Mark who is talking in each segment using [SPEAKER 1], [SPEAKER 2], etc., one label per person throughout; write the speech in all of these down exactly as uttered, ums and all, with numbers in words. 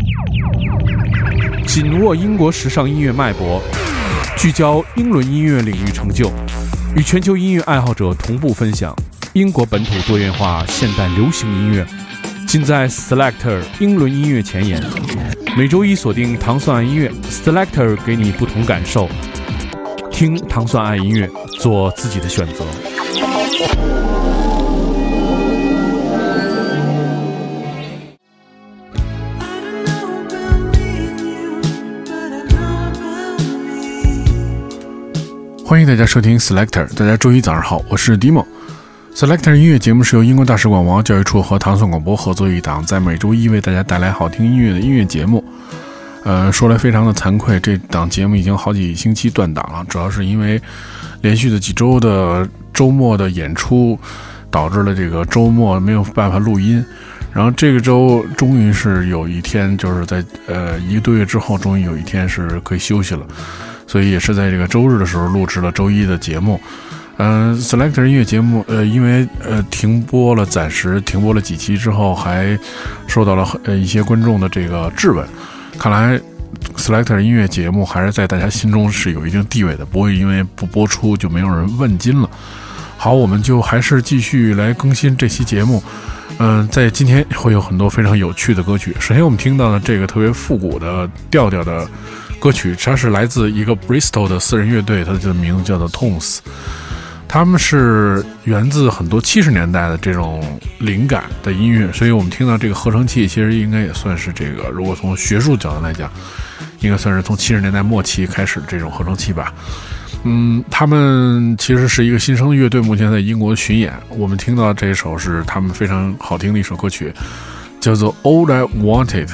[SPEAKER 1] 紧握英国时尚音乐脉搏，聚焦英伦音乐领域成就，与全球音乐爱好者同步分享英国本土多元化现代流行音乐，尽在 Selector 英伦音乐前沿。每周一锁定糖蒜爱音乐 Selector， 给你不同感受，听糖蒜爱音乐，做自己的选择。欢迎大家收听 Selector， 大家周一早上好，我是 Dimo。Selector 音乐节目是由英国大使馆文化教育处和糖蒜广播合作一档，在每周一为大家带来好听音乐的音乐节目。呃，说来非常的惭愧，这档节目已经好几星期断档了，主要是因为连续的几周的周末的演出，导致了这个周末没有办法录音。然后这个周终于是有一天，就是在呃一个多月之后，终于有一天是可以休息了。所以也是在这个周日的时候录制了周一的节目。嗯、呃、Selector 音乐节目呃因为呃停播了，暂时停播了几期之后，还受到了呃一些观众的这个质问。看来 Selector 音乐节目还是在大家心中是有一定地位的，不会因为不播出就没有人问津了。好，我们就还是继续来更新这期节目。嗯、呃，在今天会有很多非常有趣的歌曲。首先我们听到的这个特别复古的调调的歌曲，它是来自一个 Bristol 的私人乐队，它的名字叫做 Tones。 他们是源自很多七十年代的这种灵感的音乐，所以我们听到这个合成器其实应该也算是这个，如果从学术角度来讲，应该算是从七十年代末期开始的这种合成器吧。嗯，他们其实是一个新生的乐队，目前在英国巡演。我们听到这一首是他们非常好听的一首歌曲，叫做 All I Wanted。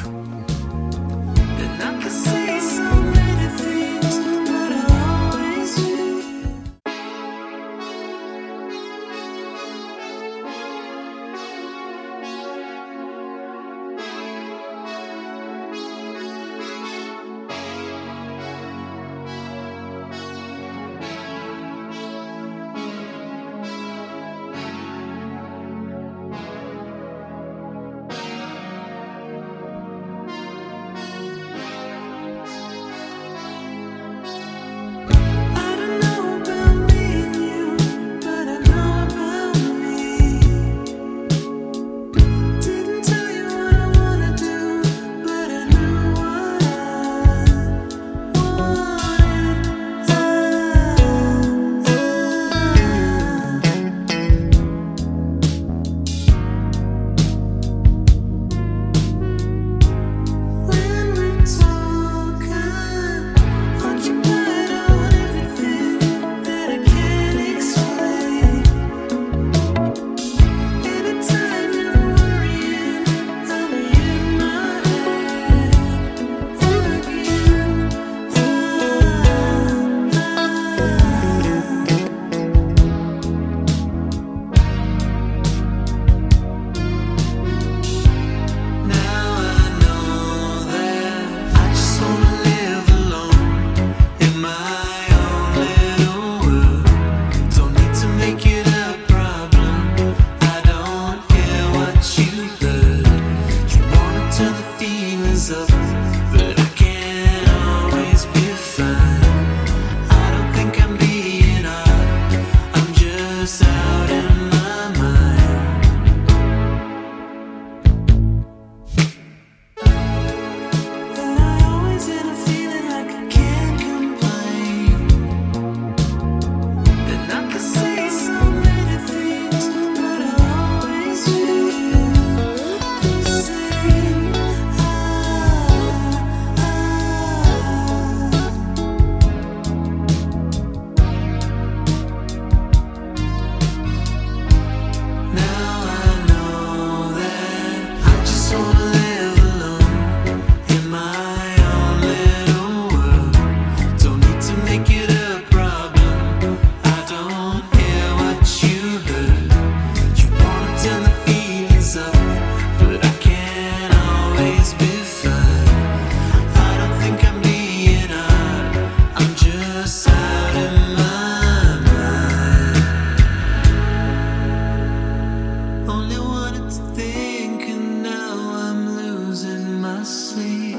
[SPEAKER 2] sleep.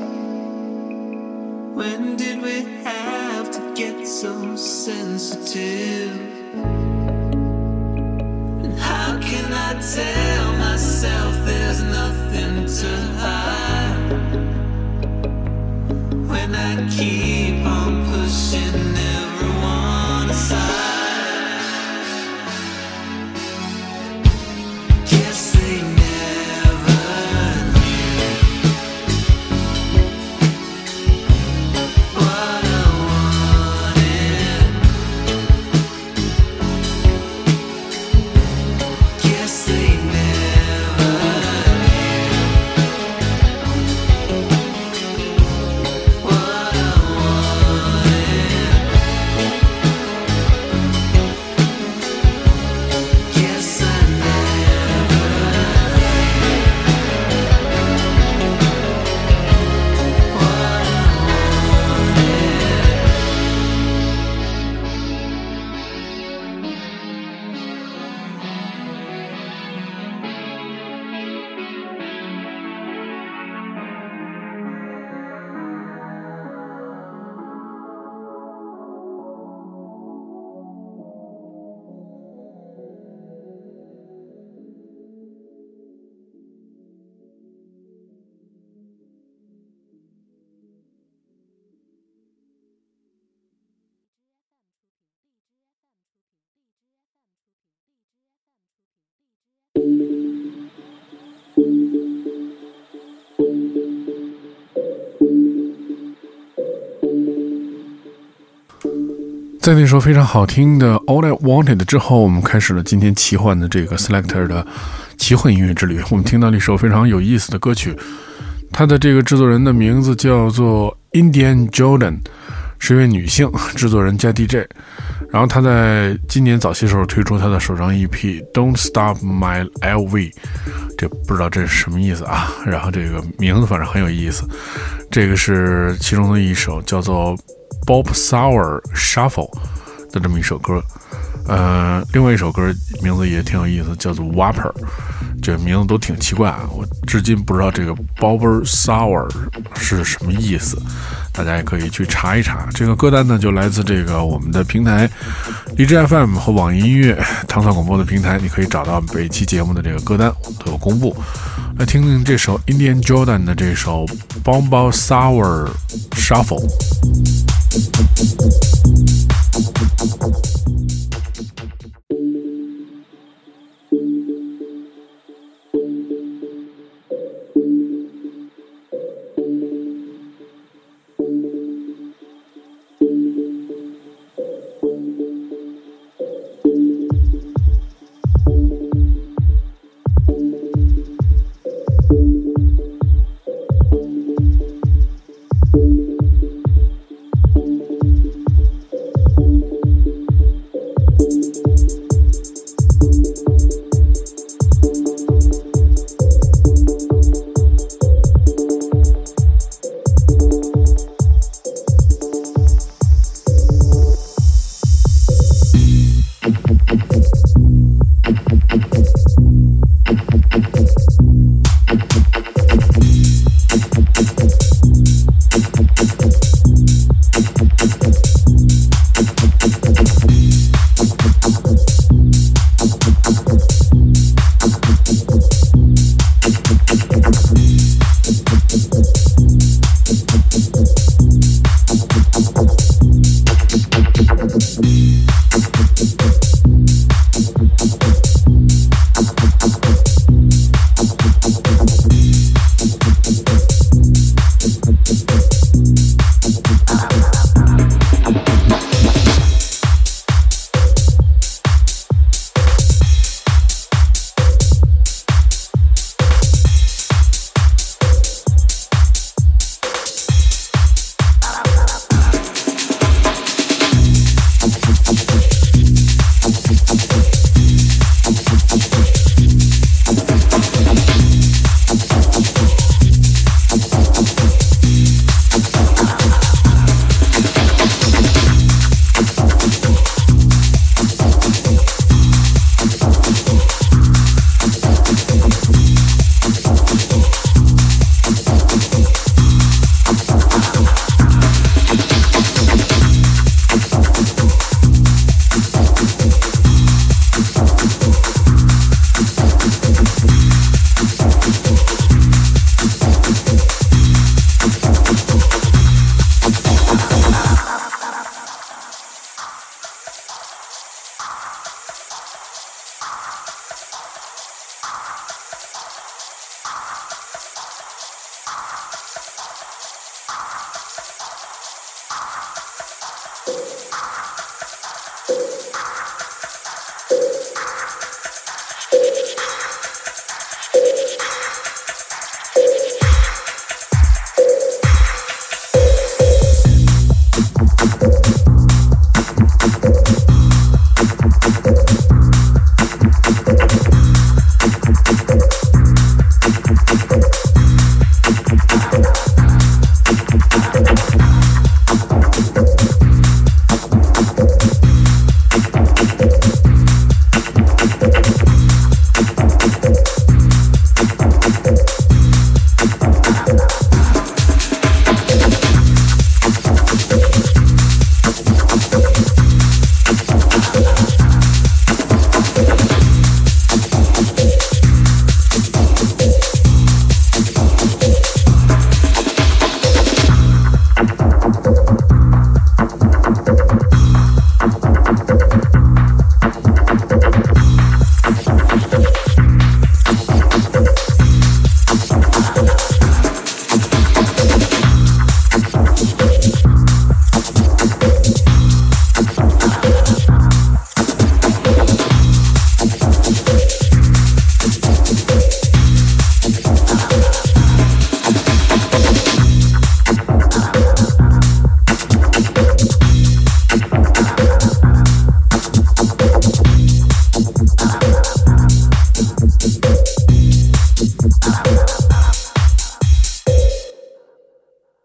[SPEAKER 2] When did we have to get so sensitive? And how can I tell myself there's nothing to hide when I keep on pushing everyone aside? Guess they never knew what I wanted. Guess they never knew what I wanted. Guess I never what I
[SPEAKER 1] 在那首非常好听的 All I Wanted 之后，我们开始了今天奇幻的这个 Selector 的奇幻音乐之旅。我们听到了一首非常有意思的歌曲，它的这个制作人的名字叫做 Indian Jordan， 是一位女性制作人加 D J。然后她在今年早些时候推出她的首张 E P Don't Stop My L V， 这不知道这是什么意思啊，然后这个名字反正很有意思。这个是其中的一首叫做Bob Sour Shuffle 的这么一首歌，呃，另外一首歌名字也挺有意思，叫做 Whopper， 这名字都挺奇怪啊，我至今不知道这个 Bob Sour 是什么意思，大家也可以去查一查。这个歌单呢，就来自这个我们的平台荔枝 F M 和网易音乐唐宋广播的平台，你可以找到每期节目的这个歌单，我们都有公布。来听听这首 Indian Jordan 的这首 Bob Sour Shuffle。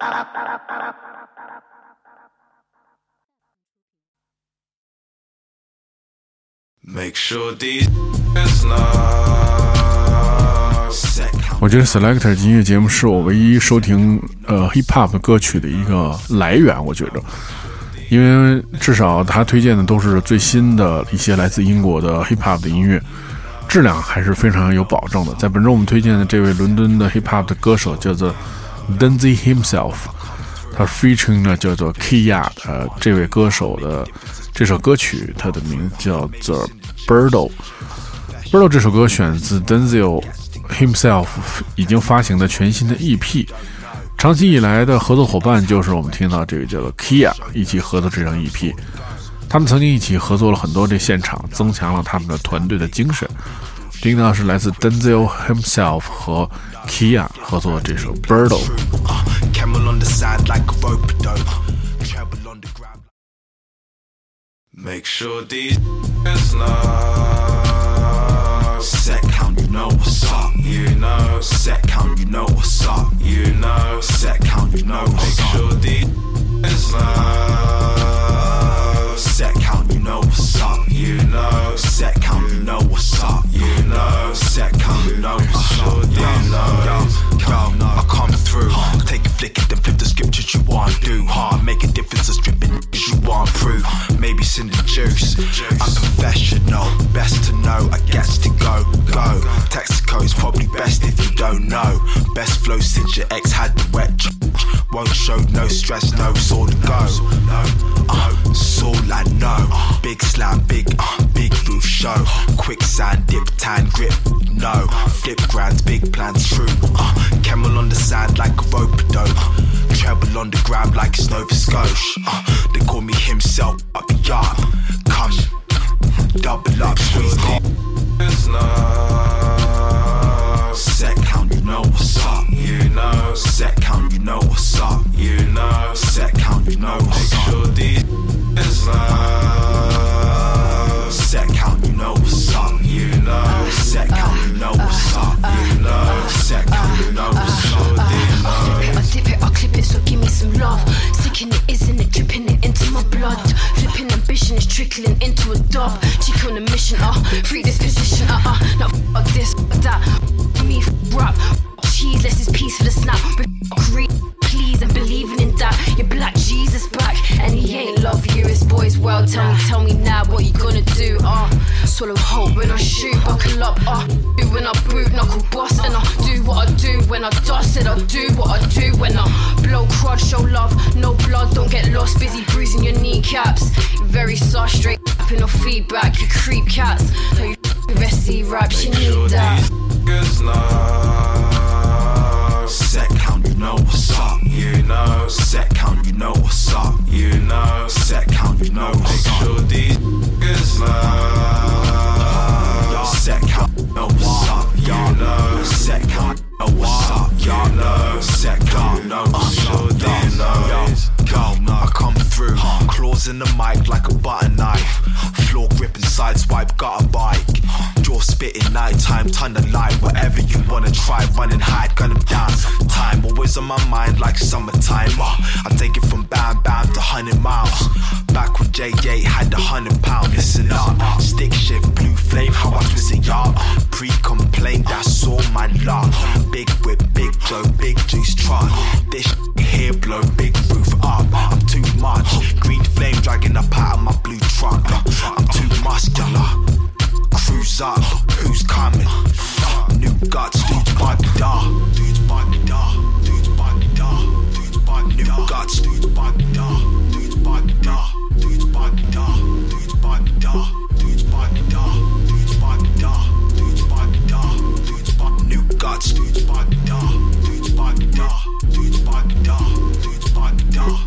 [SPEAKER 2] Make sure these know.
[SPEAKER 1] 我觉得 Selector 音乐节目是我唯一收听呃 hip hop 歌曲的一个来源，我觉得，因为至少他推荐的都是最新的一些来自英国的 hip hop 的音乐，质量还是非常有保证的。在本周我们推荐的这位伦敦的 hip hop 的歌手叫做 Denzi himself， 他 featuring 呢叫做 Kia 的这位歌手的这首歌曲，它的名字叫做 Birdo。Birdo 这首歌选自 Denzel himself 已经发行的全新的 E P， 长期以来的合作伙伴就是我们听到这个叫做 Kia 一起合作这张 E P， 他们曾经一起合作了很多这现场，增强了他们的团队的精神。听到是来自 Denzel himself 和 Kia 合作的这首 Birdo。
[SPEAKER 2] Make sure these know. Set count, you know what's up, you know. Set count, you know what's up, you know. Set count, you know what's up. Make sure these know. Set count, you know what's up, you know. Set count, you know what's up, you know. Set count, you know what's up, you know. Yo, yo, I come through. Take a flick and then flip the scriptures you want to do. Hard, make a difference, a stripping you want to prove. Maybe sin the juice, unprofessional. Best to know, I guess to go, go. Texaco's probably best if you don't know. Best flow since your ex had the wet. Won't show no stress, no sort of go. Uh, it's all I know. Big slam, big, uh, big roof show. Quicksand, dip, tan, grip, no. Flip grands, big plans, true. Uh, camel on the sand like a rope dope. Treble on the ground like it's Nova Scotia. Uh, they call me himself, up the yard. Come, double up, squeeze deep. Set count, you know what's up, you know. Set count, you know what's up, you know. Set count, you know what's up. Make sure these know. Set count, you know what's up, you know. Set count, you know what's up, you know. Set count, you know what's up, you know.
[SPEAKER 3] I flip it, I dip it, I clip it, so give me some love. Sticking it, isn't it, dripping it into my blood. Flipping ambition is trickling into a dub. Cheek on a mission, uh, free this position, uh, uh. Now fuck this, fuck that, me rap. Cheese, less is peace for the snap. But read, please, and believing in that. Your black Jesus back, and he ain't love you, his boys well. Tell me, tell me now what you gonna do, uh. Swallow hope when I shoot, buckle up, uh. Do when I boot, knuckle boss, and I do what I do when I dust. Said I do what I do when I blow crud, show love, no blood, don't get lost. Busy bruising your kneecaps. Very soft, straight no feedback. You creep cats. No, you S C raps, you need that.
[SPEAKER 2] Set count, you know what's up, you know. Set count, you know what's up, you know. Set count, you know what's up. Make sure these niggas know. Set count, you know what's up, you know. Set count, you know what's up, you know. Set count, you know what's up, you know. Go, I come through, claws in the mic like a butter knife. Floor gripping, sideswipe, got a bike. Jaw spitting, nighttime, ton of light. Whatever you wanna try, run and hide, gun them down. Time always on my mind like summertime. uh, I take it from bam bam to hundred miles. Back when J J had the hundred pound. Listen up, stick shift, blue flame, how I twist it up. Pre-complaint, that's all my luck. Big whip, big Joe, big juice truck. This here blow, big roof up. I'm too much, green flame dragging up out of my blue truck. I'm too muscular, cruise up, who's coming? New guts, dudes buggy da, dudes buggy da, dudes buggy da, dudes buggy da. New guts, dudes buggy da, dudes buggy da, dudes buggy da, dudes buggy da, dudes buggy da, dudes buggy da, dudes buggy da, dudes buggy. New guts, dudes buggy da, dudes buggy da, dudes buggy da, dudes buggy da, dudes.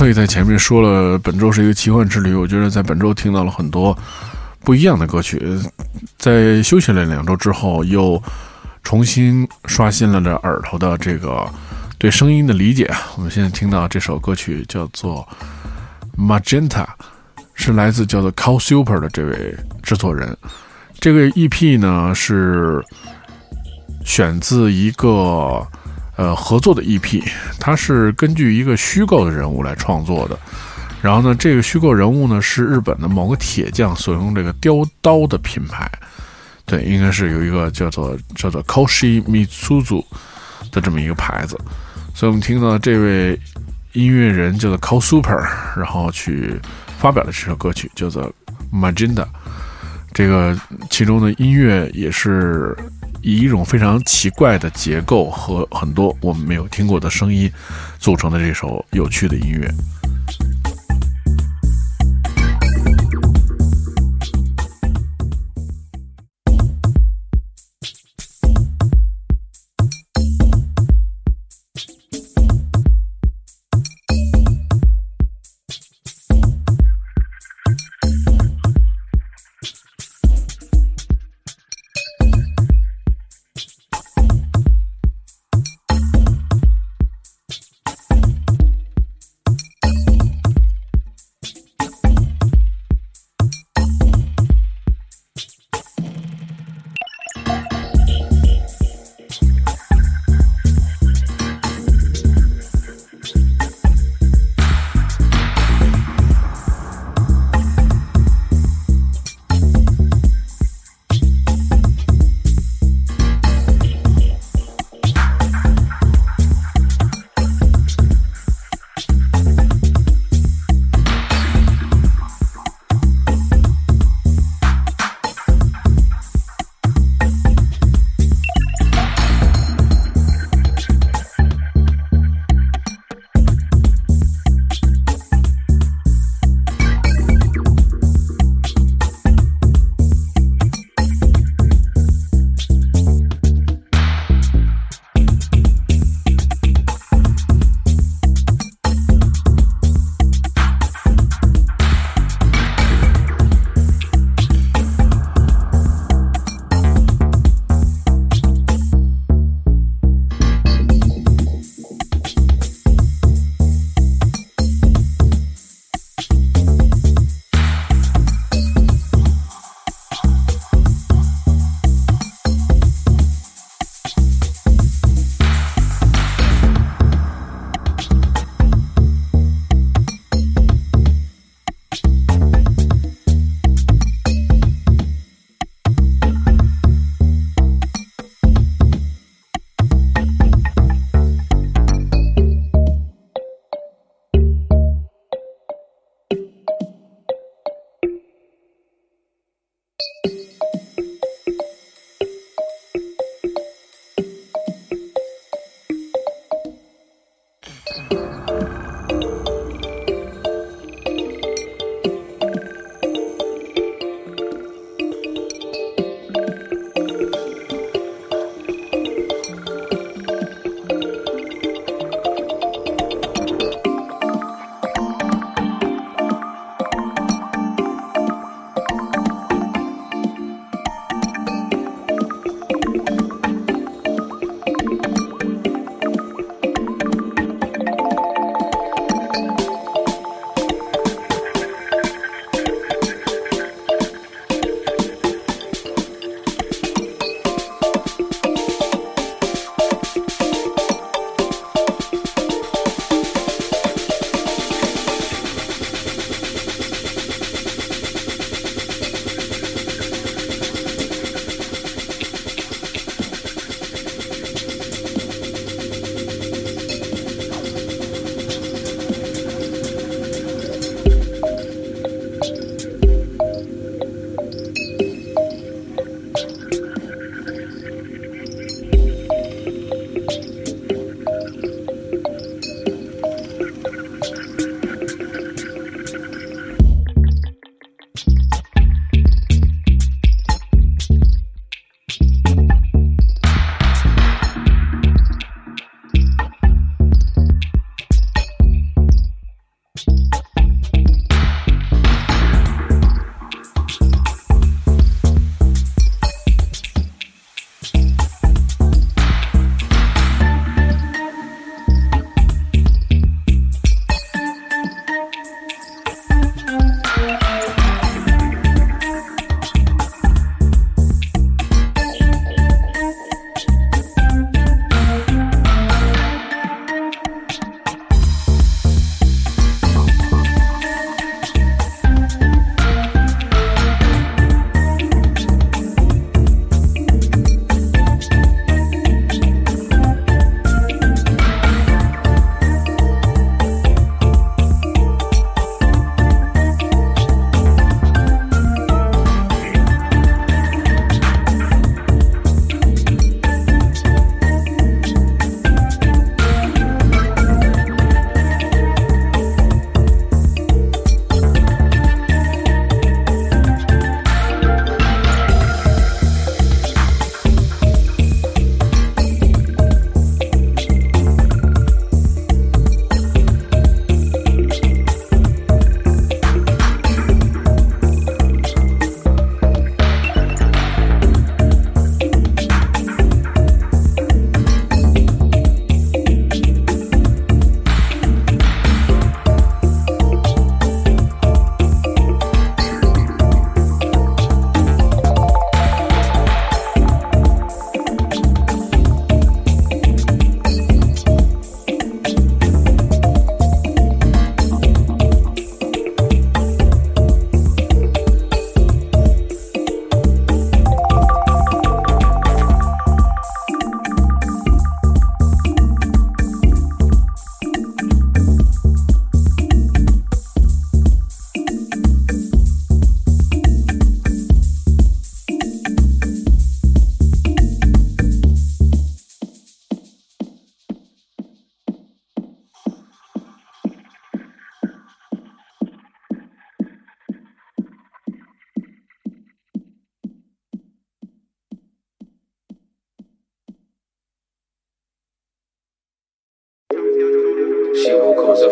[SPEAKER 1] 所以在前面说了本周是一个奇幻之旅，我觉得在本周听到了很多不一样的歌曲，在休息了两周之后又重新刷新了这耳朵的这个对声音的理解。我们现在听到这首歌曲叫做 Magenta， 是来自叫做 Call Super 的这位制作人。这个 E P 呢是选自一个呃合作的 E P， 它是根据一个虚构的人物来创作的。然后呢，这个虚构人物呢是日本的某个铁匠所用这个雕刀的品牌，对，应该是有一个叫做叫做 Koshi Mitsuzu 的这么一个牌子。所以我们听到这位音乐人叫做 Call Super， 然后去发表了这首歌曲叫做 Magenta。 这个其中的音乐也是以一种非常奇怪的结构和很多我们没有听过的声音组成的这首有趣的音乐。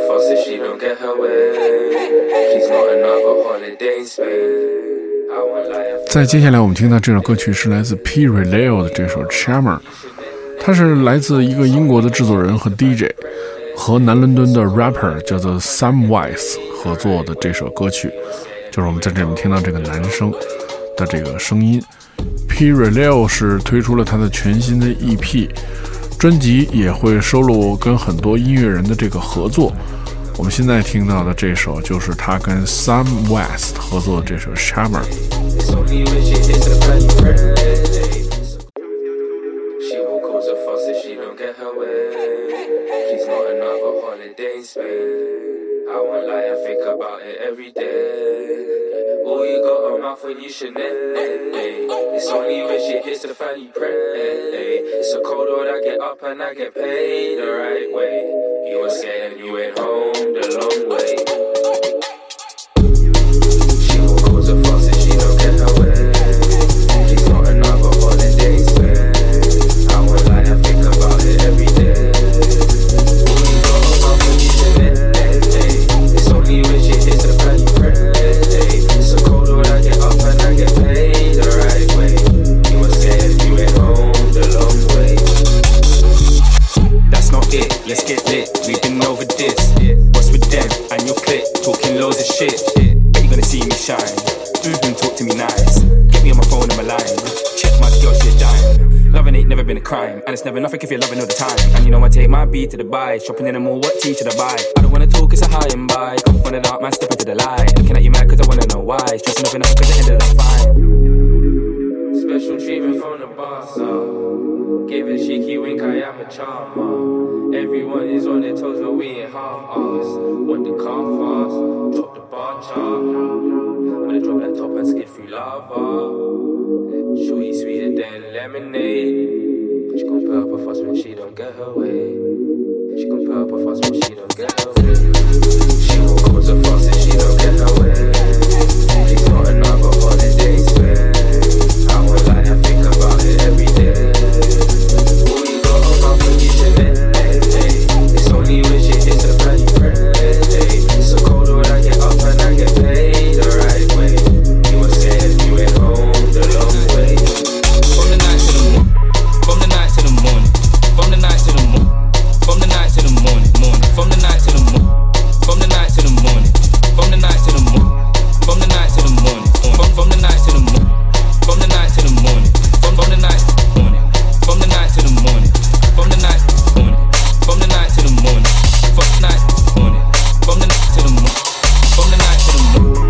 [SPEAKER 4] fuss if she don't get her way. Please not another holiday in Spain. I won't lie.
[SPEAKER 1] 在接下来我们听到这首歌曲是来自 P. Releo 的这首 Charmer， 它是来自一个英国的制作人和 D J 和南伦敦的 rapper 叫做 Sam Wise 合作的这首歌曲，就是我们在这里面听到这个男生的这个声音。P. Releo 是推出了他的全新的 E P， 专辑也会收录跟很多音乐人的这个合作。我们现在听到的这首就是他跟 Sam West 合作的这首 Charmer。
[SPEAKER 4] It's only when she hits the fan you pray. She will cause a fuss if she don't get her way. Please not another holiday in Spain. I won't lie, I think about it every day. Oh, you got a mouth when you shouldn't. It's only when she hits the fan you pray. It's a cold world, I get up and I get paid the right way. You were scared and you went home the long way. She will cause a fuss if she don't get her way. She's not another holiday spend. I won't lie, I think about it every day. Oh, you got a mouth when you shouldn't. It's only when she hits the fan you pray. It's a cold world, I get up and I get paid the right way. You were scared and you went home the long way. That's not it, let's get lit. We've been over this. What's with them and your clique? Talking loads of shit. Bet you gonna see me shine. Mm-hmm, talk to me nice. Get me on my phone and my line. Check my girl, she a dime. Loving ain't never been a crime, and it's never nothing if you're loving all the time. And you know I take my beat to the buy. Shopping in the mall, what tea should I buy? I don't wanna talk, it's a high and buy. Come from the dark, man, step into the light. Looking at you mad cause I wanna know why. Stressing nothing up cause it ended up fine. Special treatment from the boss, so give a cheeky wink, I am a charmer. Everyone is on their toes, but we ain't half-ass. Want the car fast, drop the bar chart. I'm gonna drop that top and skid through lava. Shorty sweeter than lemonade. She gon' put up a fuss when she don't get her way. She gon' put up a fuss when she don't get her way. She won't cause a fuss if she don't get her way. She's not another holiday spend. I won't lie, I think about it every day. Oh, you got a mouth when you shouldn't. It's only when she hits the fan you pray. It's a cold world, I get up and I get paid the right way. You were scared, you went home the long way. From the night to the morning, from the night to the morning, from the night to the morning, from the night to the morning, morning, from the night to the morning, from the night to the morning, from the night to the morning, from the night to the morning, from from the night to the morning, from the night to the morning, from from the night morning, from the night to the morning, from the night morning, from the night to the morning, from the night morning, from the night to the morning, from the night to the morning.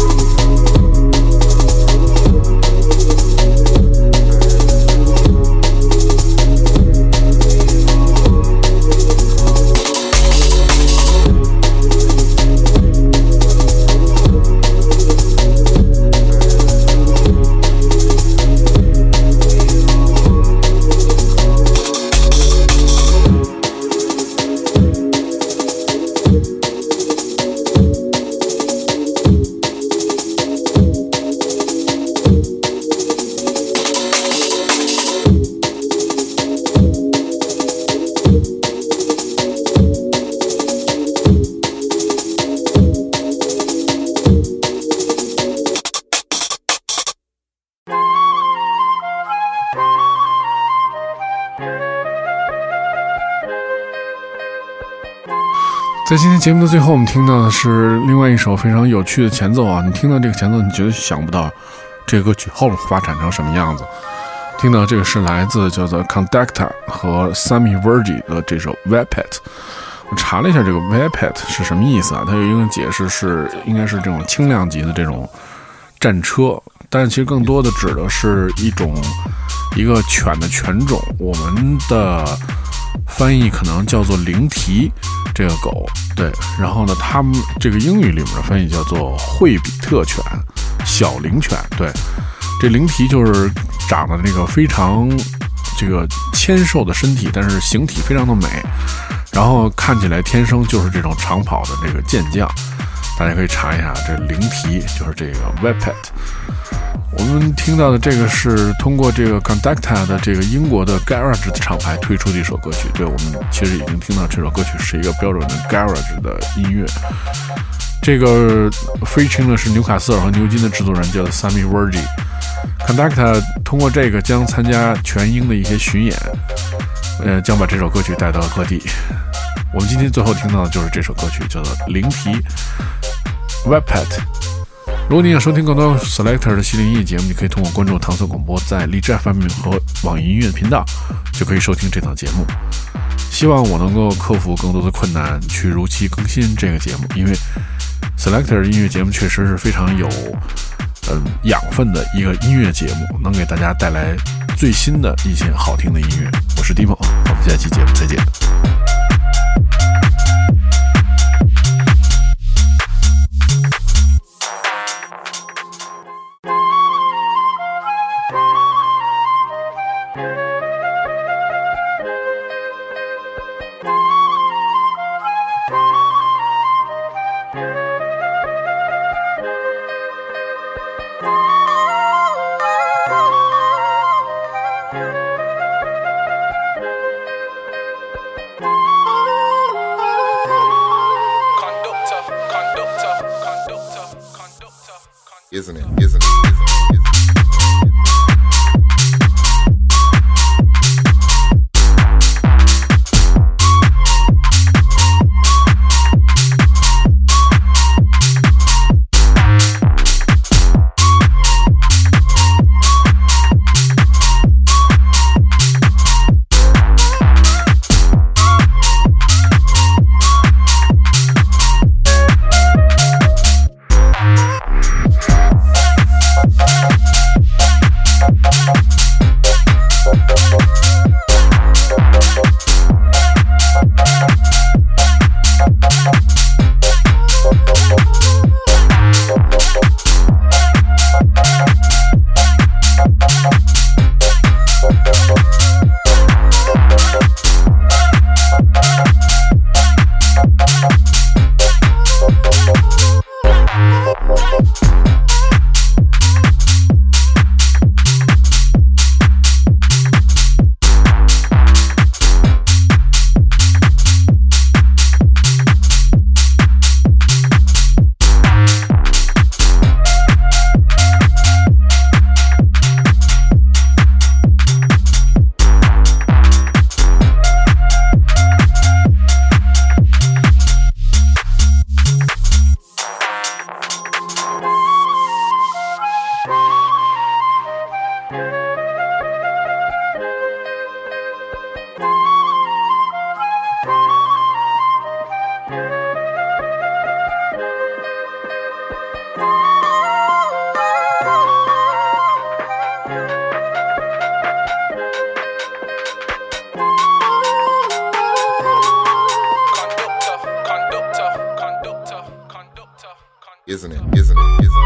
[SPEAKER 1] 在今天节目的最后，我们听到的是另外一首非常有趣的前奏啊！你听到这个前奏，你绝对想不到这个歌曲后面发展成什么样子。听到这个是来自叫做 Conducta 和 Sammy Vergi 的这首 Vapet。我查了一下这个 Vapet 是什么意思啊？它有一个解释是应该是这种轻量级的这种战车，但其实更多的指的是一种一个犬的犬种。我们的翻译可能叫做灵缇这个狗，对，然后呢，他们这个英语里面的翻译叫做惠比特犬、小灵犬，对，这灵缇就是长得那个非常这个纤瘦的身体，但是形体非常的美，然后看起来天生就是这种长跑的这个健将。 大家可以查一下，这灵题就是这个 Webpad。我们听到的这个是通过这个 Conducta 的这个英国的 Garage 的厂牌推出的一首歌曲。对，我们其实已经听到这首歌曲是一个标准的 Garage 的音乐。这个 featuring 的是纽卡斯尔和牛津的制作人叫做 Sammy Vergy。Conducta 通过这个将参加全英的一些巡演，呃，将把这首歌曲带到各地。我们今天最后听到的就是这首歌曲，叫做灵题 Webpad。如果你想收听更多 Selector 的系列音乐节目，你可以通过关注唐宋广播在荔枝 F M 和网易音乐的频道，就可以收听这档节目。希望我能够克服更多的困难，去如期更新这个节目，因为 Selector 音乐节目确实是非常有嗯养分的一个音乐节目，能给大家带来最新的一些好听的音乐。我是 Dimo， 我们下期节目再见。
[SPEAKER 5] Isn't it? Isn't it? Isn't it? Isn't it? Isn't it? Isn't it?